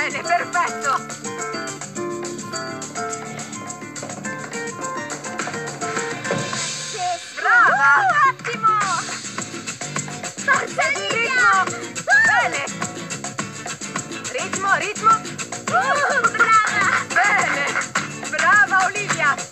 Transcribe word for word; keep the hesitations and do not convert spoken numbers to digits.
Bene, perfetto! Brava! Uh, ottimo! Forza, Ritmo! Bene! Ritmo, ritmo! Uh, brava! Bene! Brava Olivia!